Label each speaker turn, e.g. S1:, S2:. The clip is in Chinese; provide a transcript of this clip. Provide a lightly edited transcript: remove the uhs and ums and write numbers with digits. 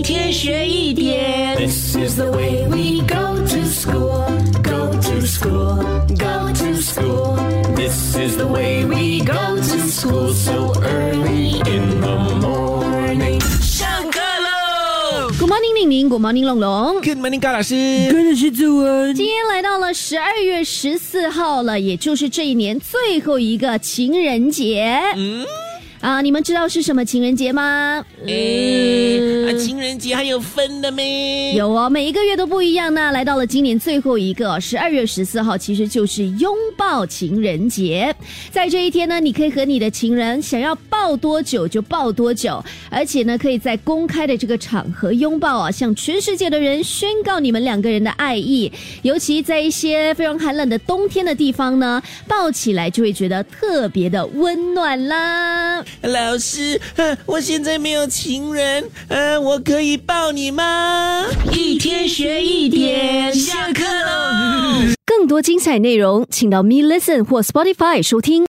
S1: 天学一点。This is the way we go to school, go to school, go to school. This is the way we go to school so early in the morning. 上课喽
S2: ！Good morning， 宁宁 ，Good morning， 龙龙
S3: Good morning， 高老师。
S4: 跟着是子文。
S2: 今天来到了12月14号了，也就是这一年最后一个情人节。你们知道是什么情人节吗？
S3: 情人节还有分的咩？
S2: 有哦，每一个月都不一样呢。来到了今年最后一个12月14号，其实就是拥抱情人节。在这一天呢，你可以和你的情人想要抱多久就抱多久，而且呢，可以在公开的这个场合拥抱啊，向全世界的人宣告你们两个人的爱意。尤其在一些非常寒冷的冬天的地方呢，抱起来就会觉得特别的温暖啦。
S3: 老师，我现在没有情人，我可以抱你吗？
S1: 一天学一点，下课喽！
S2: 更多精彩内容，请到Me Listen 或 Spotify 收听。